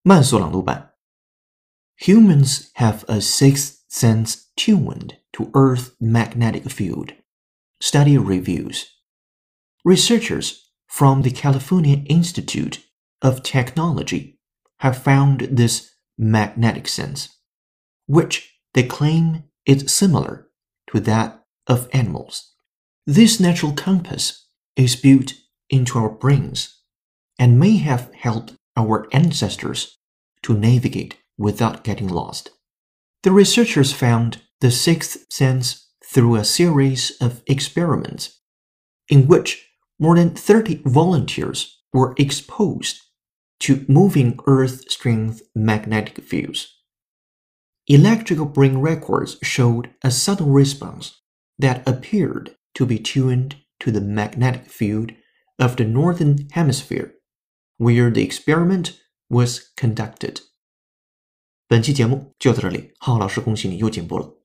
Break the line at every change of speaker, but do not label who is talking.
慢速朗读版 Humans have a sixth sense tuned to Earth's magnetic field. Study reviews. Researchers from the California Institute of Technology have found this magnetic sense, which they claim is similar to that of animals. This natural compass is built into our brains and may have helped our ancestors to navigate without getting lost. The researchers found the sixth sense through a series of experiments in which more than 30 volunteers were exposed to moving Earth-strength magnetic fields. Electrical brain records showed a subtle response that appeared to be tuned to the magnetic field of the northern hemisphere, where the experiment was conducted. 本期节目就到这里，浩老师恭喜你又进步了。